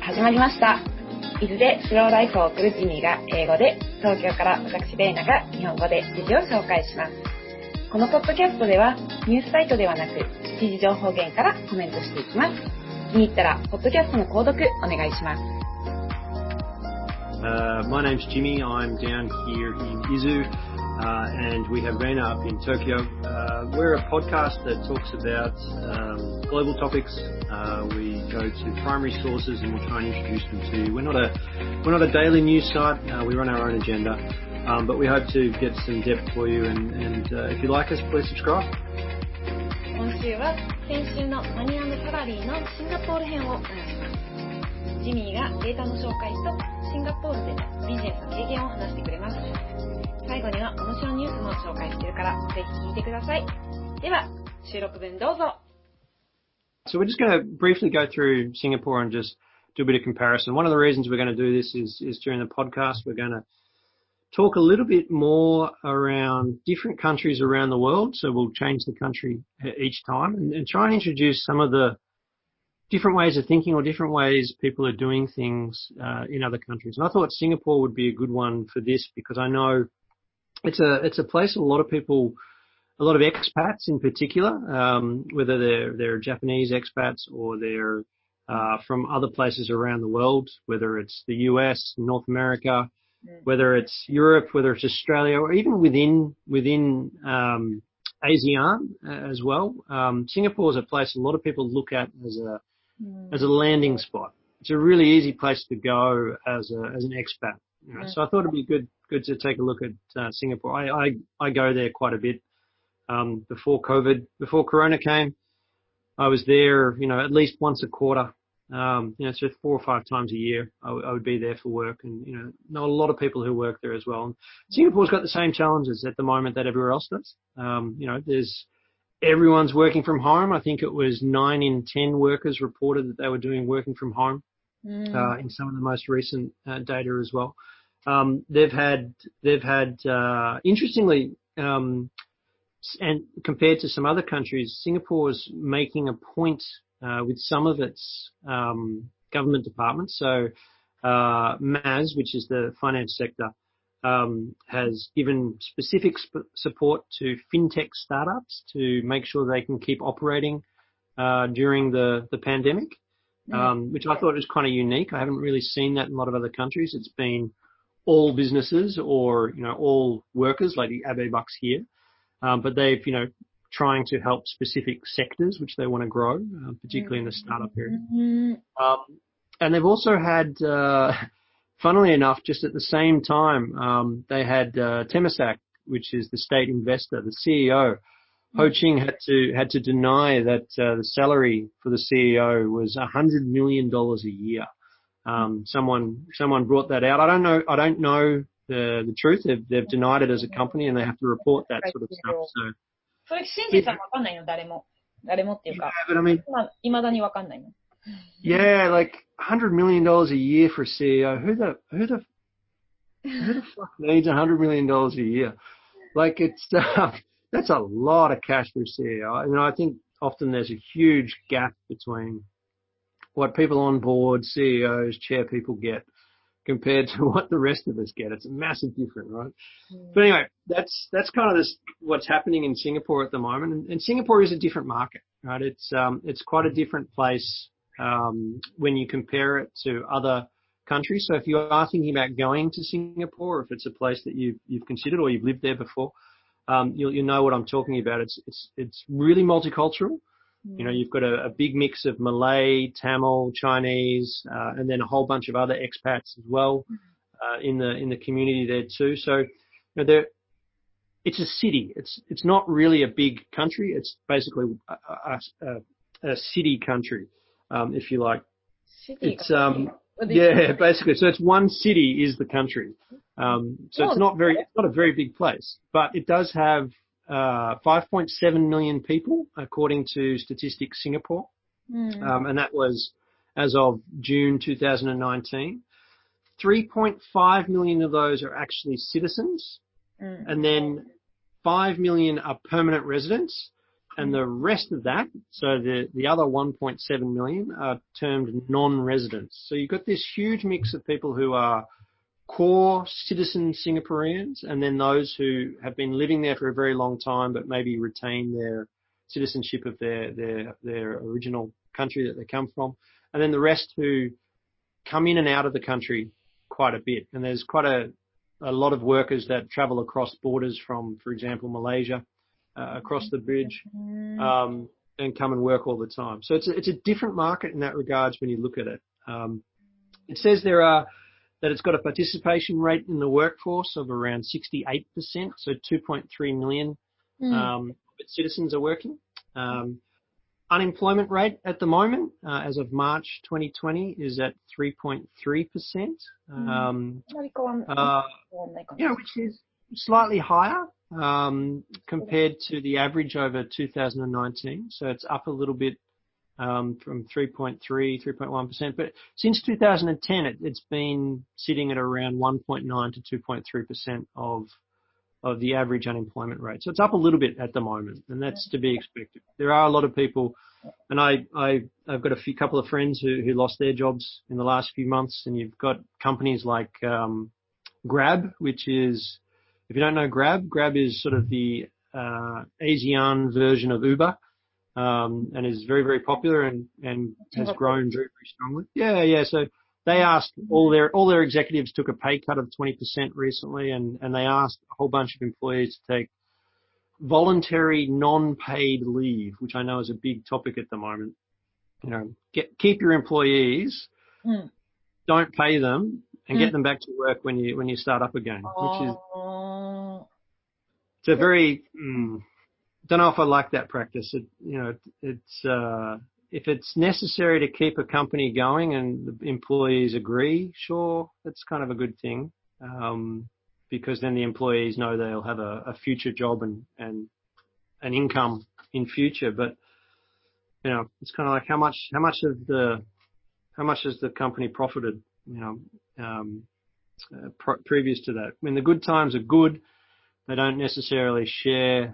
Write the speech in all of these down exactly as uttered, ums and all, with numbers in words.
始まりました。伊豆でスローライフを送るジミーが英語で、東京から私レイナが日本語で記事を紹介します。このポッドキャストではニュースサイトではなく記事情報源からコメントしていきます。気に入ったらポッドキャストの購読お願いします。 Uh, my name's Jimmy. I'm down here in Izu, uh, and we have Reina up in Tokyo. Uh, we're a podcast that talks about um, global topics. Uh, we go to primary sources and we'll try and introduce them to you. We're not a we're not a daily news site. Uh, we run our own agenda, um, but we hope to get some depth for you. And, and uh, if you like us, please subscribe. 今週は先週のマニー&サラリーのシンガポール編を流します。ジミーがデータの紹介とシンガポールでのビジネスの経験を話してくれます。最後には面白いニュースも紹介しているからぜひ聞いてください。では収録分どうぞ。 So we're just going to briefly go through Singapore and just do a bit of comparison. One of the reasons we're going to do this is, is during the podcast we're going to talk a little bit more around different countries around the world. So we'll change the country each time and, and try and introduce some of the different ways of thinking or different ways people are doing things uh, in other countries. And I thought Singapore would be a good one for this because I know it's a it's a place a lot of people, a lot of expats in particular, um, whether they're they're Japanese expats or they're uh, from other places around the world, whether it's the U S, North America, whether it's Europe, whether it's Australia, or even within within um, ASEAN as well. Um, Singapore is a place a lot of people look at as a as a landing spot. It's a really easy place to go as a as an expat. You know? So I thought it'd be good good to take a look at uh, Singapore. I, I I go there quite a bit. Um, before COVID, before Corona came, I was there, you know, at least once a quarter. Um, you know, so four or five times a year, I, w- I would be there for work, and you know, know a lot of people who work there as well. And Singapore's got the same challenges at the moment that everywhere else does. Um, you know, there's everyone's working from home. I think it was nine in ten workers reported that they were doing working from home mm. uh, in some of the most recent uh, data as well. Um, they've had they've had uh, interestingly, um, and compared to some other countries, Singapore's making a point uh, with some of its um, government departments. So uh, M A S, which is the finance sector, Um, has given specific sp- support to fintech startups to make sure they can keep operating uh, during the, the pandemic, um, which I thought was kind of unique. I haven't really seen that in a lot of other countries. It's been all businesses or, you know, all workers like the Abe Bucks here, um, but they've, you know, trying to help specific sectors which they want to grow, uh, particularly in the startup area. Um, and they've also had... Uh, Funnily enough, just at the same time, um, they had uh, Temasek, which is the state investor, the C E O. Ho Ching had to had to deny that uh, the salary for the C E O was a hundred million dollars a year. Um, someone someone brought that out. I don't know. I don't know the the truth. They've they've denied it as a company, and they have to report that sort of stuff. So. それ信じたらわかんないの誰も誰もっていうか。 Yeah, but I mean, いまだにわかんないの。 Yeah, like a hundred million dollars a year for a C E O. Who the who the who the fuck needs a hundred million dollars a year? Like it's uh, that's a lot of cash for a C E O. I mean, I think often there's a huge gap between what people on board, C E Os, chair people get compared to what the rest of us get. It's a massive difference, right? Mm. But anyway, that's that's kind of this what's happening in Singapore at the moment. And, and Singapore is a different market, right? It's um it's quite a different place. Um, when you compare it to other countries. So if you are thinking about going to Singapore, or if it's a place that you've, you've considered or you've lived there before, um, you'll, you'll know what I'm talking about. It's, it's, it's really multicultural. Mm. You know, you've got a, a big mix of Malay, Tamil, Chinese, uh, and then a whole bunch of other expats as well, uh, in the, in the community there too. So, you know, there, it's a city. It's, it's not really a big country. It's basically a, a, a, a city country. Um, if you like, city. It's um, yeah, basically. So it's one city is the country. Um, so it's not very, it's not a very big place, but it does have uh, five point seven million people according to Statistics Singapore, mm. um, and that was as of June two thousand nineteen. three point five million of those are actually citizens, mm. and then five million are permanent residents. and the rest of that, so the, the other one point seven million are termed non-residents. So you've got this huge mix of people who are core citizen Singaporeans, and then those who have been living there for a very long time but maybe retain their citizenship of their, their, their original country that they come from. And then the rest who come in and out of the country quite a bit. And there's quite a, a lot of workers that travel across borders from, for example, Malaysia, uh, across the bridge, um, and come and work all the time. So it's a, it's a different market in that regards when you look at it. Um, it says there are, that it's got a participation rate in the workforce of around sixty-eight percent, so two point three million um, citizens are working. Um, unemployment rate at the moment, uh, as of March twenty twenty, is at three point three percent, um, uh, you know, which is slightly higher um, compared to the average over two thousand nineteen. So it's up a little bit um, from three point three, three point one percent. But since two thousand ten, it, it's been sitting at around one point nine to two point three percent of of the average unemployment rate. So it's up a little bit at the moment, and that's to be expected. There are a lot of people, and I, I, I've got a few couple of friends who, who lost their jobs in the last few months, and you've got companies like um, Grab, which is, if you don't know Grab, Grab is sort of the uh, ASEAN version of Uber, um, and is very, very popular and, and has grown very, very strongly. Yeah, yeah. So they asked all their all their executives took a pay cut of twenty percent recently, and, and they asked a whole bunch of employees to take voluntary non-paid leave, which I know is a big topic at the moment. You know, get keep your employees, mm. don't pay them, and mm. get them back to work when you when you start up again. Which is it's a very mm, don't know if I like that practice. It, you know, it's uh, if it's necessary to keep a company going and the employees agree, sure, that's kind of a good thing, um, because then the employees know they'll have a, a future job and, and an income in future. But you know, it's kind of like how much how much of the how much has the company profited? You know, um, uh, pr- previous to that, when the good times are good, they don't necessarily share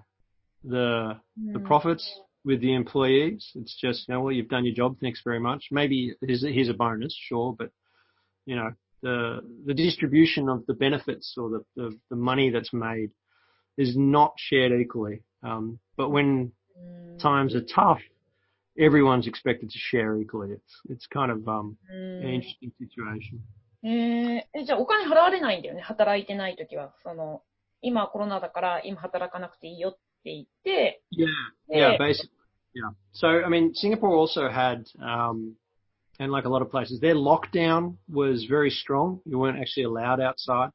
the mm. the profits with the employees. It's just, you know, well, you've done your job, thanks very much. Maybe here's a, here's a bonus, sure, but you know, the the distribution of the benefits or the the, the money that's made is not shared equally. Um, but when mm. times are tough, everyone's expected to share equally. It's it's kind of um mm. an interesting situation. えー、え、じゃあお金払われないんだよね、働いてないときは。その、今コロナだから今働かなくていいよって言って。 Yeah, yeah, basically, yeah. So, I mean, Singapore also had, um, and like a lot of places, their lockdown was very strong. You weren't actually allowed outside,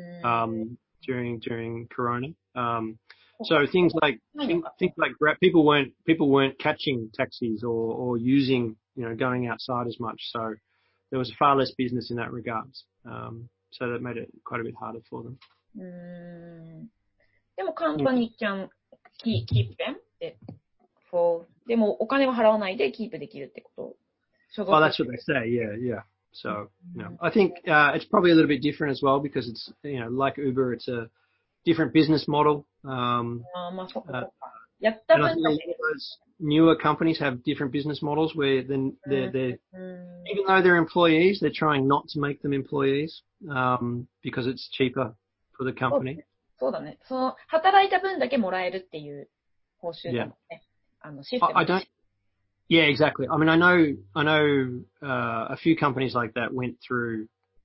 um, during, during Corona. Um, so things like, things, things like people weren't, people weren't catching taxis or, or using, you know, going outside as much. So there was far less business in that regards. Um, so that made it quite a bit harder for them. うーん。でも、company can keep them で、for でもお金は払わないでキープできるってこと。 Well, that's what they say. Yeah, yeah. So, you know, I think uh, it's probably a little bit different as well because it's, you know, like Uber, it's a different business model. Um, uh, and I think a lot of those newer companies have different business models where then they're, they're even though they're employees, they're trying not to make them employees um, because it's cheaper for the company. そうだね。その働いた分だけもらえるっていう報酬だもんね。あのシステム。 I don't. Yeah, exactly. I mean, I know, I know uh, a few companies like that went through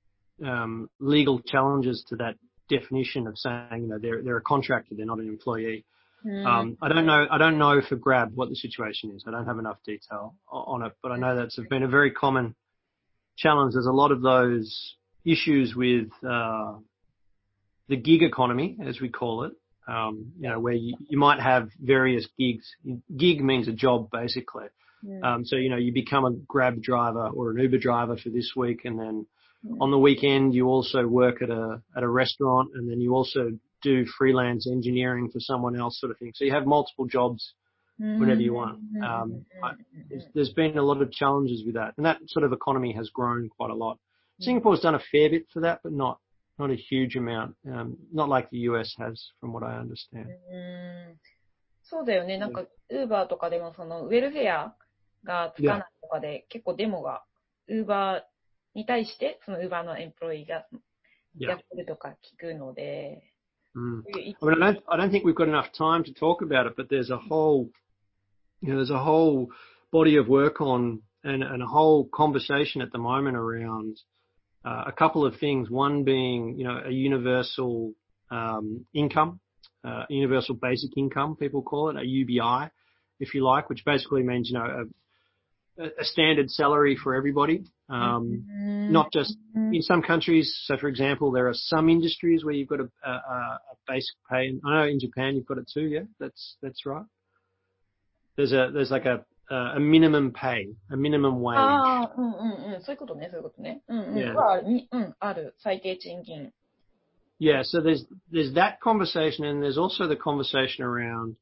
um, legal challenges to that definition of saying, you know, they're they're a contractor, they're not an employee. Mm. Um, I don't know. I don't know for Grab what the situation is. I don't have enough detail on it, but I know that's been a very common challenge. There's a lot of those issues with uh, the gig economy, as we call it. Um, you know, where you, you might have various gigs. Gig means a job, basically. Um, so, you know, you become a Grab driver or an Uber driver for this week, and then mm. on the weekend you also work at a at a restaurant, and then you also do freelance engineering for someone else, sort of thing. So you have multiple jobs whenever you want. Um, I, there's been a lot of challenges with that, and that sort of economy has grown quite a lot. Singapore's done a fair bit for that, but not not a huge amount. Um, not like the U S has, from what I understand. そうだよね。なんか、ウーバーとかでも、その、ウェルフェアがつかないとかで、結構デモが、ウーバーに対して、そのウーバーのエンプロイーがや Yeah. ってるとか聞くので、 Mm. そういう I mean, I don't, I don't think we've got enough time to talk about it, but there's a whole, you know, there's a whole body of work on and, and a whole conversation at the moment around uh, a couple of things. One being, you know, a universal um, income, uh, universal basic income, people call it, a U B I, if you like, which basically means, you know, a, a standard salary for everybody. Um, not just in some countries. So, for example, there are some industries where you've got a, a, a basic pay. I know in Japan you've got it too. Yeah, that's that's right. There's a there's like a a minimum pay, a minimum wage. ああ、うんうんうん。そういうことね、そういうことね。うんうん。 Yeah. はにうん、ある。最低賃金。 Yeah. So there's there's that conversation, and there's also the conversation around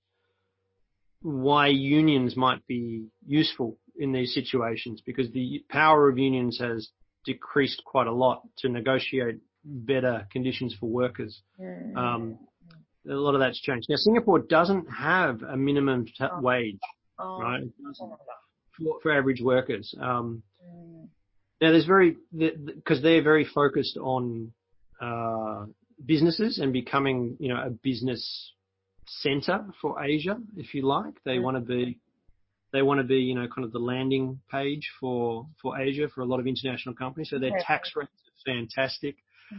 why unions might be useful in these situations, because the power of unions has decreased quite a lot to negotiate better conditions for workers. うん。 Um, a lot of that's changed. Now, Singapore doesn't have a minimum t- あ wage, あ、 right, そうなんだ。 for, for average workers. Um, うん。 now, there's very, because they're very focused on uh, businesses and becoming, you know, a business center for Asia, if you like. They want to be, they want to be, you know, kind of the landing page for, for Asia for a lot of international companies. So their tax rates are fantastic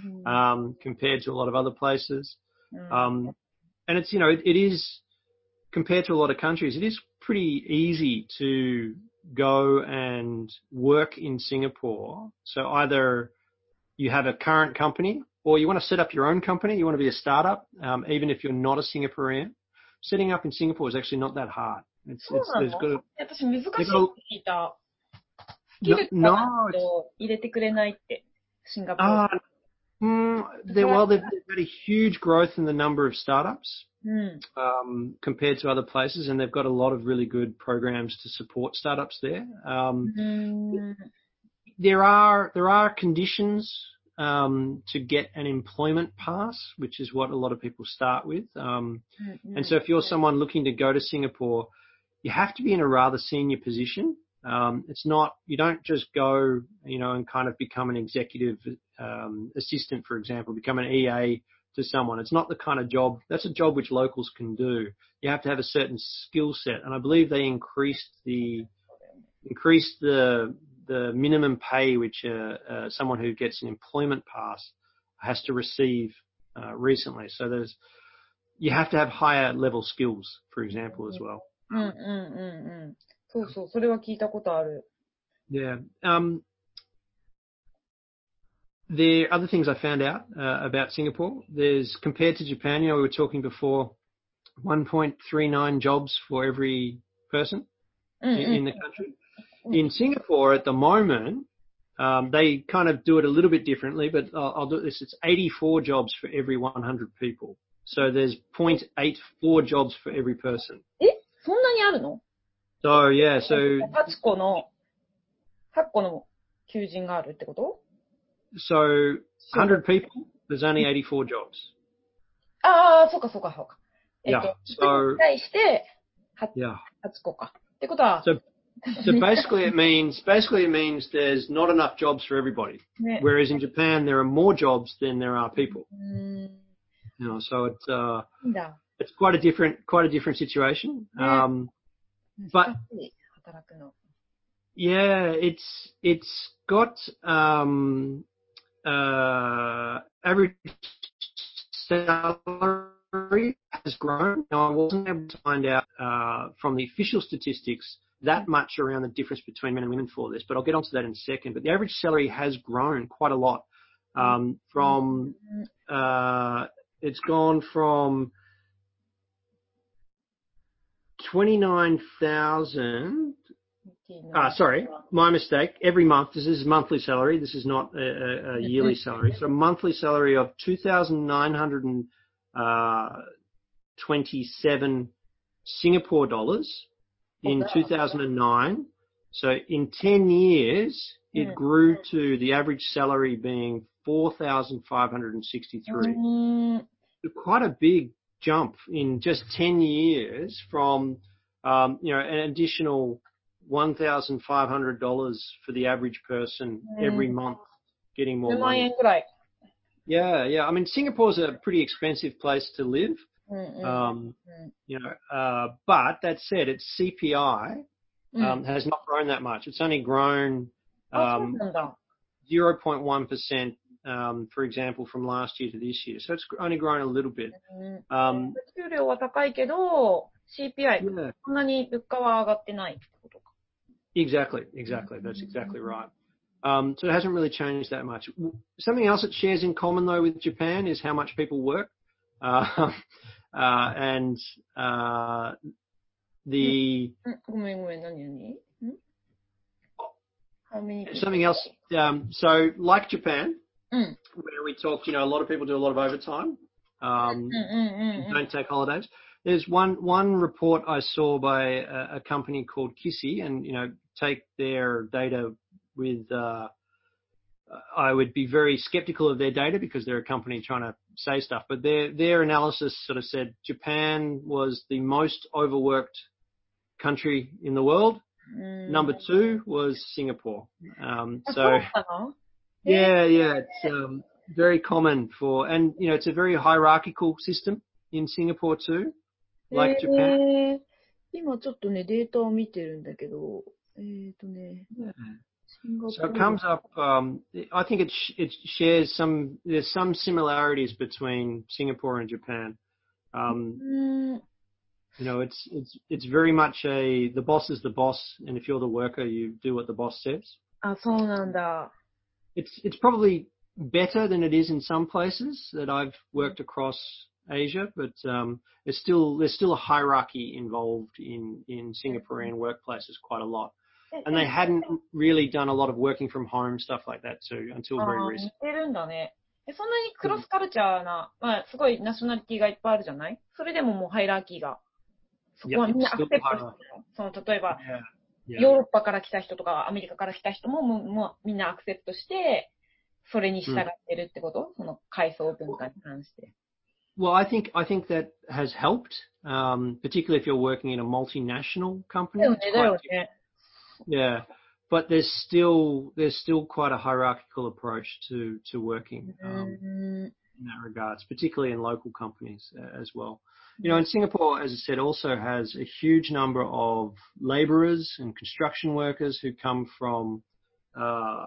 um, compared to a lot of other places. Um, and it's, you know, it, it is, compared to a lot of countries, it is pretty easy to go and work in Singapore. So either you have a current company or you want to set up your own company, you want to be a startup, um, even if you're not a Singaporean. Setting up in Singapore is actually not that hard. It's, そう it's, な there's の？ got a, 私難しいって they've got 聞いた。ス a, キル no, がない no, it's, と入れてくれないって、シンガポール。 uh, mm, they, well, they've, they've had a huge growth in the number of startups. うん。 Um, compared to other places, and they've got a lot of really good programs to support startups there. Um, うーん。 there are there are conditions um, to get an employment pass, which is what a lot of people start with. Um, うんうん and so, if you're someone looking to go to Singapore, you have to be in a rather senior position. Um, it's not you don't just go, you know, and kind of become an executive um, assistant, for example, become an E A to someone. It's not the kind of job, that's a job which locals can do. You have to have a certain skill set. And I believe they increased the, increased the, the minimum pay which uh, uh, someone who gets an employment pass has to receive uh, recently. So there's, you have to have higher level skills, for example, as well. うんうんうんうん。そうそう、それは聞いたことある。 Yeah. Um, There are other things I found out uh, about Singapore. There's, compared to Japan, you know, we were talking before, one point three nine jobs for every person in, in the country. In Singapore at the moment, um, they kind of do it a little bit differently, but I'll, I'll do this. It's eighty-four jobs for every one hundred people. So there's zero point eight four jobs for every person. え、そんなにあるの？ So yeah, so はちこの、はちこの求人があるってこと？ so one hundred people, there's only eighty-four jobs. ああ、そうかそうかそうか。えっ Yeah. と、 So に対して、は yeah. ちこか。ってことは、 So so basically it means basically it means there's not enough jobs for everybody. ね。 Whereas in Japan there are more jobs than there are people. うーん。 You know, so it's uh いいんだ。 it's quite a different quite a different situation. Um, 難 but しい、働くの。 yeah, it's it's got um uh average salary has grown. Now I wasn't able to find out uh from the official statistics that much around the difference between men and women for this, but I'll get onto that in a second. But the average salary has grown quite a lot. Um, from uh, it's gone from twenty-nine thousand. Ah, sorry, my mistake. Every month, this is monthly salary. This is not a, a, a yearly salary. So monthly salary of two thousand nine hundred twenty-seven Singapore dollars in two thousand nine. So in ten years, it grew to the average salary being four thousand five hundred sixty-three. Quite a big jump in just ten years from, um, you know, an additional one thousand five hundred dollars for the average person every month getting more じゅうまん money. 円ぐらい。 Yeah, yeah. I mean, Singapore's a pretty expensive place to live. うんうん Um, うん you know, uh, but that said, its C P I うん um, has not grown that much. It's only grown あ、そう um, なんだ。 zero point one percent, um, for example, from last year to this year. So it's only grown a little bit. うん、 Um, 給料は高いけど、シーピーアイ、 yeah, そんなに物価は上がってないってことか。 exactly, exactly. That's exactly right. Um, so it hasn't really changed that much. Something else it shares in common, though, with Japan is how much people work. Uh, uh, and uh, the うん、ごめんごめん、何何ん How many people? something else. Um, so, like Japan, うん。 where we talked, you know, a lot of people do a lot of overtime. Um, うんうんうん don't take holidays. There's one one report I saw by a, a company called Kissy, and you know, take their data with. Uh, I would be very skeptical of their data because they're a company trying to say stuff. But their their analysis sort of said Japan was the most overworked country in the world. うん。 Number two was Singapore. Um, あ、 so そうかな yeah, yeah, it's um, very common for, and you know, it's a very hierarchical system in Singapore too, like Japan. えー、今ちょっとね、データを見てるんだけど、えーとね、 Yeah. シンガポ So ー it ル。 comes up. Um, I think it sh- it shares some. There's some similarities between Singapore and Japan. う Um, ーん。 you know, it's it's it's very much a the boss is the boss, and if you're the worker, you do what the boss says. あ、そうなんだ。 It's it's probably better than it is in some places that I've worked across Asia, but um, there's still there's still a hierarchy involved in in Singaporean workplaces quite a lot, え、 and they hadn't really done a lot of working from home stuff like that too until あ very ー、 recent. 似てるんだね。え、そんなにクロスカルチャーな、まあ、すごいナショナリティがいっぱいあるじゃない？それでももうハイラーキーが、そこ Yeah, はみんな it's アク still セプトして hierarchy. るの。その、例えば、 Yeah, ヨー yeah. ロッパから来た人とか、アメリカから来た人も、もう、もうみんなアクセプトして、それに従ってるってこと？その階層文化に関して。 Well, I think I think that has helped, um, particularly if you're working in a multinational だ company. よね、 It's だ quite よね。 yeah, but there's still there's still quite a hierarchical approach to to working う um, ーん。 in that regards, particularly in local companies uh, as well. You know, and Singapore, as I said, also has a huge number of labourers and construction workers who come from uh,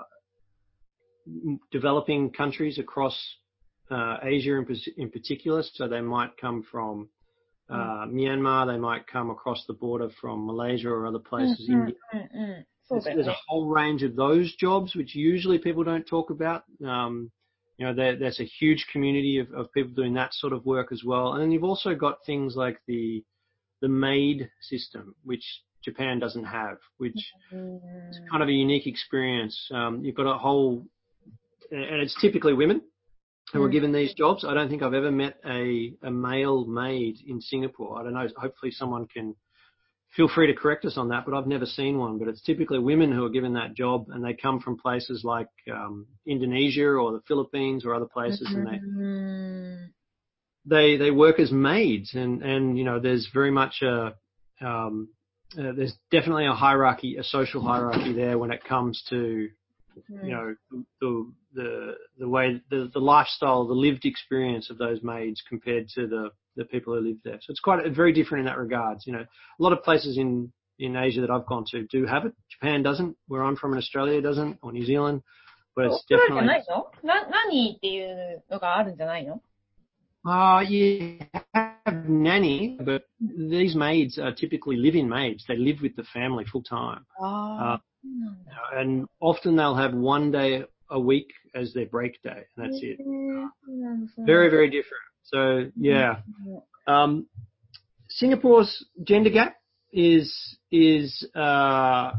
developing countries across uh, Asia in, in particular. So they might come from uh, Myanmar, they might come across the border from Malaysia or other うん places, うん India. うんうん。そう There's, だよ there's a ね。 whole range of those jobs, which usually people don't talk about. Um, you know, there, there's a huge community of, of people doing that sort of work as well. And then you've also got things like the the maid system, which Japan doesn't have, which うーん。 is kind of a unique experience. Um, you've got a whole, and it's typically women who are given these jobs. I don't think I've ever met a, a male maid in Singapore. I don't know. Hopefully someone can feel free to correct us on that, but I've never seen one. But it's typically women who are given that job, and they come from places like um, Indonesia or the Philippines or other places, and they うーん。 they they work as maids, and and you know there's very much a um, uh, there's definitely a hierarchy, a social hierarchy there when it comes to you know the the the way the the lifestyle, the lived experience of those maids compared to the the people who live there. So it's quite very different in that regards. You know, a lot of places in in Asia that I've gone to do have it. Japan doesn't. Where I'm from in Australia doesn't, or New Zealand, but オー it's ストラリアじゃ definitely. ないの？な、何っていうのがあるんじゃないの？ Uh, you have nanny, but these maids are typically live-in maids. They live with the family full time. ああ、そうなんだ。 And often they'll have one day a week as their break day, and that's へ it. え、そうなんだ、そうなんだ。 Very, very different. So, yeah. Um, Singapore's gender gap is, is, uh,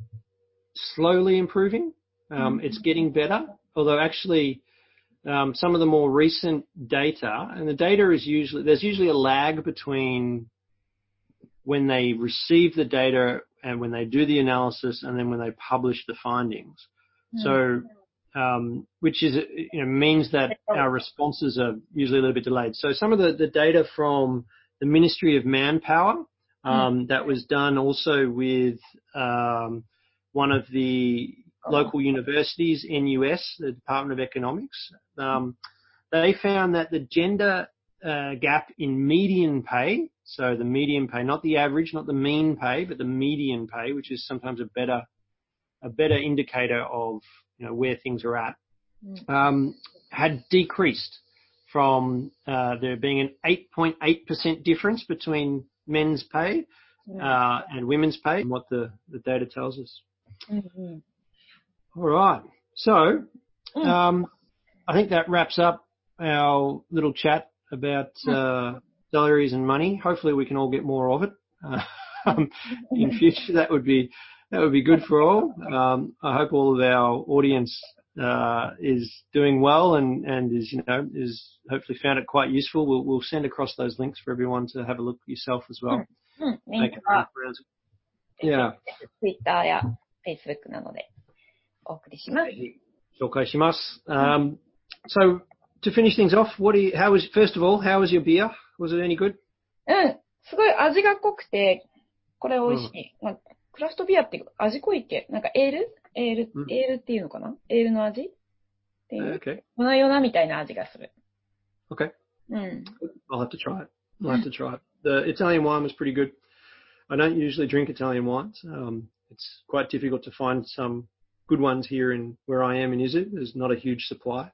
slowly improving. Um, it's getting better, although actually, Um, some of the more recent data, and the data is usually, there's usually a lag between when they receive the data and when they do the analysis and then when they publish the findings. So um, which is, you know, means that our responses are usually a little bit delayed. So some of the, the data from the Ministry of Manpower, um, that was done also with um, one of the local universities, N U S, the Department of Economics. Um, they found that the gender uh, gap in median pay, so the median pay, not the average, not the mean pay, but the median pay, which is sometimes a better a better indicator of, you know, where things are at, um, had decreased from uh, there being an eight point eight percent difference between men's pay uh, and women's pay, and what the, the data tells us. Mm-hmm. All right. So um, I think that wraps up our little chat about uh, salaries and money. Hopefully we can all get more of it. Uh, um, in future, that would be that would be good for all. Um, I hope all of our audience uh, is doing well and, and is, you know, is hopefully found it quite useful. We'll, we'll send across those links for everyone to have a look yourself as well. うん、リン Make ク it は Yeah. Twitter や Facebook なのでお送りします。 紹介します。Um, so to finish things off, what do you, how was, first of all, how was your beer? Was it any good? うん、すごい味が濃くて、これ美味しい。まあ、クラフトビアって味濃いっけ？なんかエールエール、 うん、 エールっていうのかな？エールの味っていう。 Okay. 粉よなみたいな味がする。 Okay. うん。 I'll have to try it. I'll have to try it. The Italian wine was pretty good. I don't usually drink Italian wines. Um, it's quite difficult to find some good ones here in where I am in Izu. There's not a huge supply.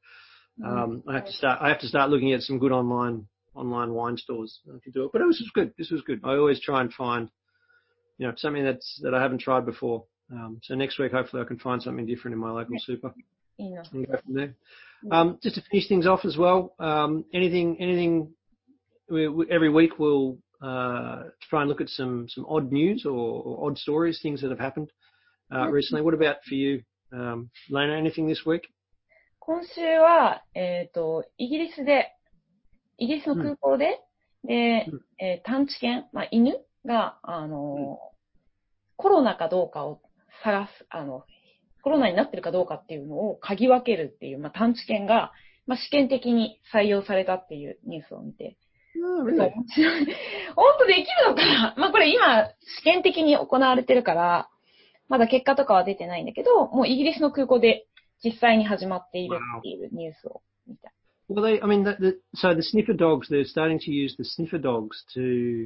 Um, I have to start. I have to start looking at some good online online wine stores to do it. But it was good. This was good. I always try and find, you know, something that's that I haven't tried before. Um, so next week, hopefully, I can find something different in my local super and go from there. Um, just to finish things off as well, um, anything, anything. We, we, every week we'll uh, try and look at some some odd news or, or odd stories, things that have happened uh, recently. What about for you, um, Lena? Anything this week? 今週は、えっと、イギリスで、イギリスの空港で、で、えー探知犬、まあ、犬が、あの、コロナかどうかを探す、あの、コロナになってるかどうかっていうのを嗅ぎ分けるっていう、まあ、探知犬が、まあ、試験的に採用されたっていうニュースを見て、 Oh, really? 面白い。本当できるのかな？まあ、これ今、試験的に行われてるから、まだ結果とかは出てないんだけど、もうイギリスの空港で実際に始まっているっていうニュースを見た。 Well, they, I mean, the, the, so the sniffer dogs, they're starting to use the sniffer dogs to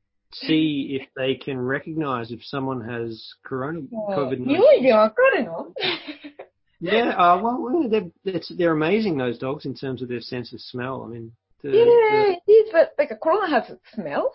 see if they can recognize if someone has corona, COVID nineteen. 匂いでわかるの？ Yeah, uh, well, they're, it's, they're amazing, those dogs, in terms of their sense of smell. I mean, the, Yeah, the, it is, but like a corona has a smell.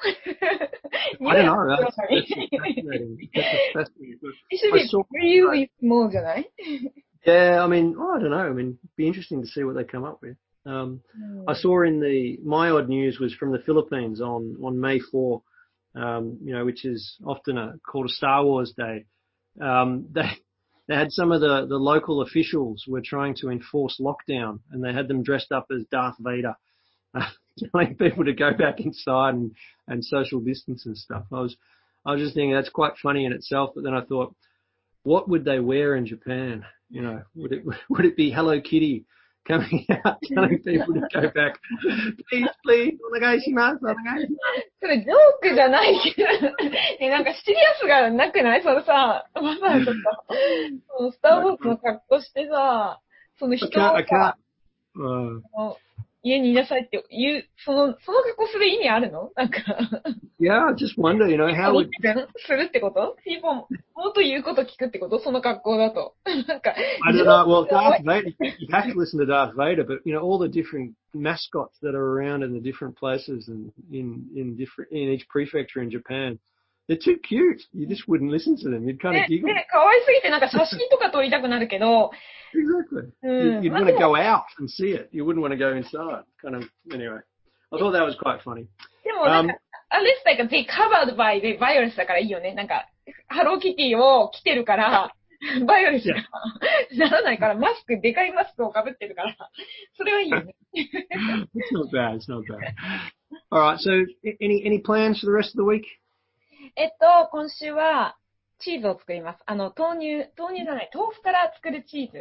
I don't know. That's, that's fascinating. That's fascinating. It should I be saw, really small, じゃない？ yeah, I mean, oh, I don't know. I mean, it'd be interesting to see what they come up with. Um, Hmm. I saw in the, my odd news was from the Philippines on, on May fourth, um, you know, which is often a, called a Star Wars Day. Um, they, they had some of the, the local officials were trying to enforce lockdown, and they had them dressed up as Darth Vader, uh, telling people to go back inside and, and social distance and stuff. I was, I was just thinking that's quite funny in itself, but then I thought, what would they wear in Japan? You know, would it, would it be Hello Kitty coming out telling people to go back? Please, please, onegaishimasu, onegaishimasu. それジョークじゃないけど、ね、なんかシリアスがなくない？そのさ、まさにとか、そのスター・ウォーズの格好してさ、その人を I can't, I さ can't. Uh, 家にいなさいって言う、その、その格好する意味あるの？なんか。 yeah, I just wonder, you know, how would... するってこと？people もっと言うこと聞くってこと？その格好だと。なんか。 I don't know. Well, Darth Vader, you have to listen to Darth Vader, but, you know, all the different mascots that are around in the different places and in, in different, in each prefecture in Japan, they're too cute. You just wouldn't listen to them. You'd kind of ね、 giggle. ね、可愛すぎてなんか写真とか撮りたくなるけど、 Exactly. うん、 You'd, you'd want to go out and see it. You wouldn't want to go inside. Kind of, anyway. I thought that was quite funny. でもなんか、あれってなんか、they covered by the virus だからいいよね。なんか、ハローキティを着てるから、バイオレスがならないから、マスク、でかいマスクをかぶってるから、それはいいよね。 It's not bad. It's not bad. All right. So, any any plans for the rest of the week? えっと、今週はチーズを作ります。あの、豆乳、豆乳じゃない、豆腐から作るチーズ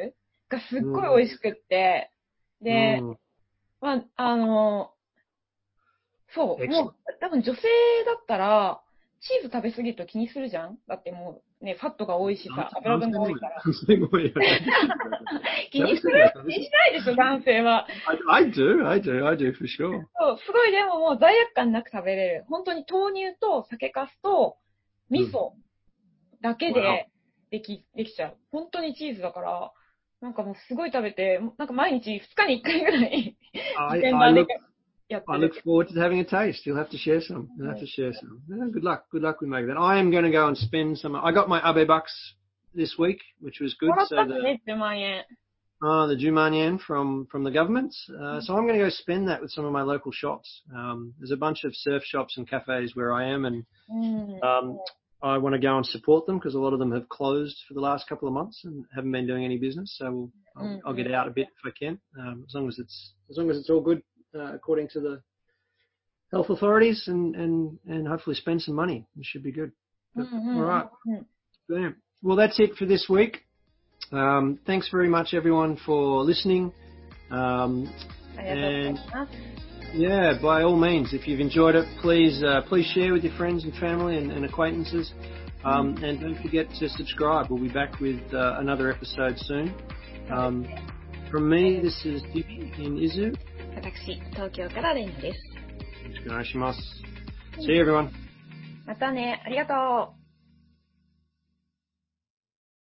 がすっごい美味しくって、で、 Mm. まあ、あの、そう、 Excellent. もう、多分女性だったら、チーズ食べ過ぎると気にするじゃん。だってもう、ね、ファットが多いしさ、油分が多いから。気にする気にしないでしょ、男性は。 I, I do, I do, I do for sure. そう、すごいでももう罪悪感なく食べれる。本当に豆乳と酒粕と味噌だけででき、できちゃう。本当にチーズだから、なんかもうすごい食べて、なんか毎日ふつかにいっかいぐらい、 I, 現 I 場で look, やって I る。 look forward to having a taste. You'll have to share some. You'll have to share some. No, good luck. Good luck with making that. I am going to go and spend some. I got my Abe bucks this week, which was も good. らっ So たって the ね、じゅうまんえん。 uh, the Juman yen from from the government. Uh, so I'm going to go spend that with some of my local shops. Um, there's a bunch of surf shops and cafes where I am, and うん。 um, I want to go and support them because a lot of them have closed for the last couple of months and haven't been doing any business. So we'll, I'll, I'll get out a bit if I can, um, as long as it's as long as it's all good uh, according to the health authorities, and, and, and hopefully spend some money. It should be good. But, all right. Bam. Well, that's it for this week. Um, thanks very much, everyone, for listening. Um, and yeah, by all means, if you've enjoyed it, please uh, please share with your friends and family and, and acquaintances. Um, and don't forget to subscribe. We'll be back with uh, another episode soon. Um, from me, this is Jimmy in Izu. 私、東京からレイナです。 See you, everyone. またね、ありがとう。